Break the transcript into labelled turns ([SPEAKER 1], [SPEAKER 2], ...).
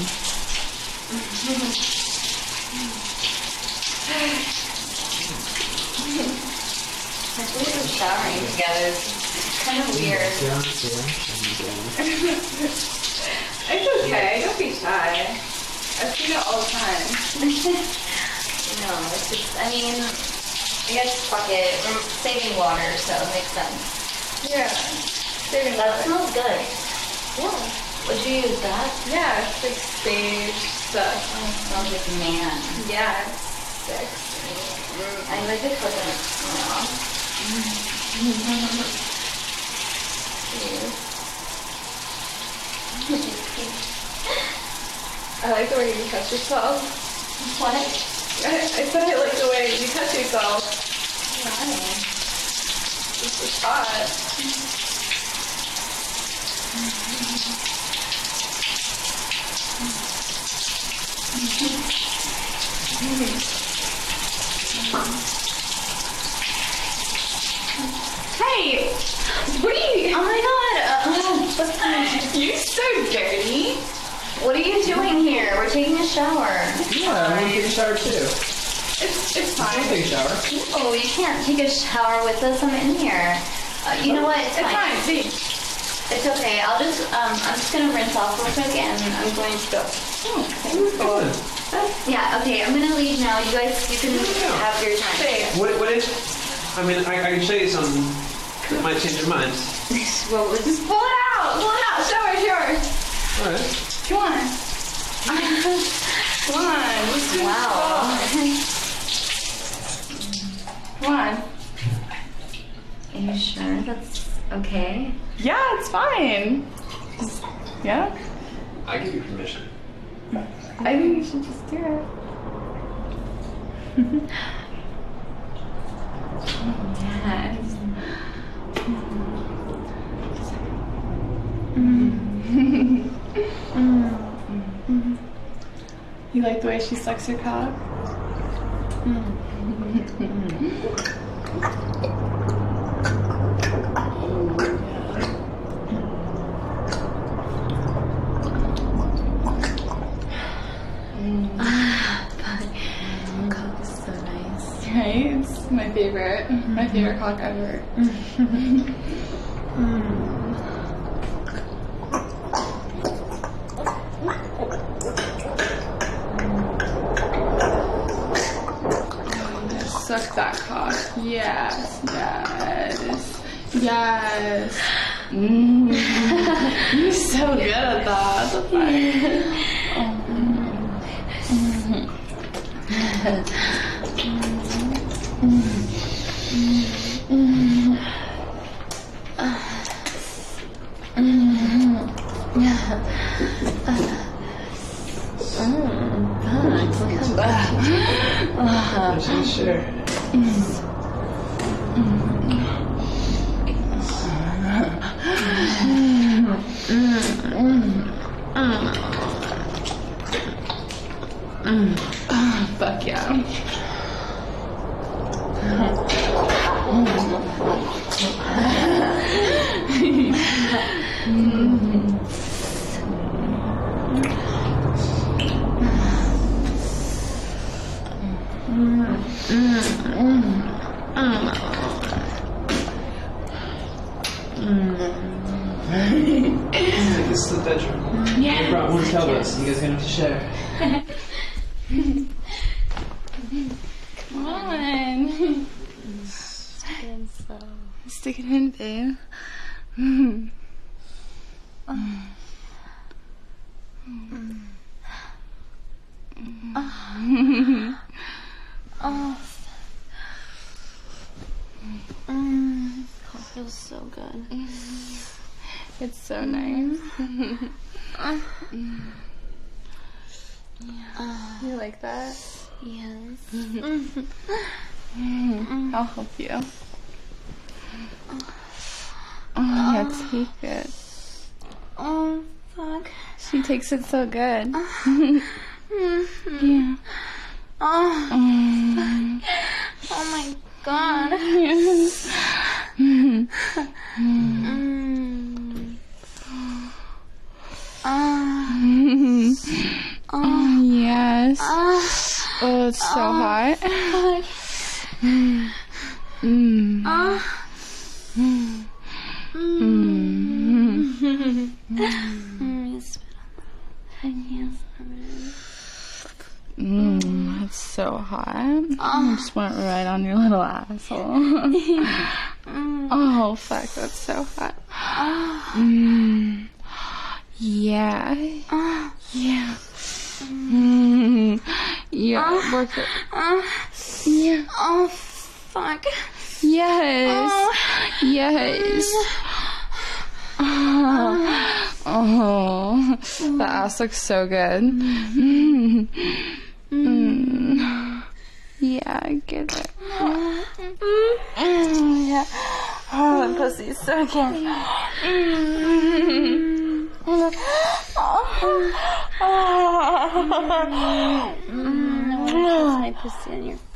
[SPEAKER 1] I think we're showering together. It's kind of weird.
[SPEAKER 2] It's okay. Don't be shy. I see it all the time.
[SPEAKER 1] No, it's just, I mean, I guess fuck it. We're saving water, so it makes sense.
[SPEAKER 2] Yeah. Saving
[SPEAKER 1] That
[SPEAKER 2] water.
[SPEAKER 1] smells good. Yeah. Would you use that?
[SPEAKER 2] Yeah, it's like sage stuff.
[SPEAKER 1] Oh, it smells like man.
[SPEAKER 2] Yeah, it's sick.
[SPEAKER 1] I like the coconut smell.
[SPEAKER 2] I like the way you touch yourself.
[SPEAKER 1] What?
[SPEAKER 2] I said I like the way you touch yourself.
[SPEAKER 1] Why?
[SPEAKER 2] It's just hot. Hey! What are you...
[SPEAKER 1] Oh my god!
[SPEAKER 2] You're so dirty.
[SPEAKER 1] What are you doing here? We're taking a shower.
[SPEAKER 3] Yeah, I'm gonna take a shower too.
[SPEAKER 2] It's
[SPEAKER 3] I'll
[SPEAKER 2] fine.
[SPEAKER 3] take a shower.
[SPEAKER 1] Oh, you can't take a shower with us. I'm in here. You know what? It's
[SPEAKER 2] It's fine. See.
[SPEAKER 1] It's okay. I'm just gonna rinse off real quick and I'm going to go.
[SPEAKER 3] Good.
[SPEAKER 1] Yeah, okay, I'm gonna leave now. You guys, you can have your time.
[SPEAKER 2] Say it.
[SPEAKER 3] What is? I mean, I can show you something that might change your mind.
[SPEAKER 1] What was
[SPEAKER 2] Just pull it out. Pull it out. Show it. Yours.
[SPEAKER 3] All right.
[SPEAKER 2] Come on. Come on. Let's do
[SPEAKER 1] Wow.
[SPEAKER 2] this. Come on.
[SPEAKER 1] Are you sure that's okay?
[SPEAKER 2] Yeah, it's fine. Yeah?
[SPEAKER 3] I give you permission.
[SPEAKER 2] I think you should just do it.
[SPEAKER 1] Yes.
[SPEAKER 2] You like the way she sucks your cock?
[SPEAKER 1] Cock is so nice.
[SPEAKER 2] Right? It's my favorite. My favorite cock ever. Suck that cock. Yes, yes, yes. You're so good at that. That's fine.
[SPEAKER 3] Sure.
[SPEAKER 2] Fuck yeah.
[SPEAKER 3] This is the bedroom.
[SPEAKER 2] Yeah.
[SPEAKER 3] I brought one Telbus. You guys gonna have to share.
[SPEAKER 2] Come on. Stick it in, babe.
[SPEAKER 1] Cock feels so good.
[SPEAKER 2] It's so nice. You like that?
[SPEAKER 1] Yes.
[SPEAKER 2] I'll help you. Oh, yeah, take it.
[SPEAKER 1] Oh, fuck.
[SPEAKER 2] She takes it so good. Yeah.
[SPEAKER 1] Oh, oh my god.
[SPEAKER 4] Yes. Oh, it's so hot. It's so hot. I just went right on your little asshole. Oh, fuck, that's so hot. Yeah. Yeah. Yeah, work it. Yeah.
[SPEAKER 1] Oh, fuck.
[SPEAKER 4] Yes. Yes. Oh, the ass looks so good. Yeah, get it. Yeah. Oh, the pussy's so good.
[SPEAKER 1] My pussy on your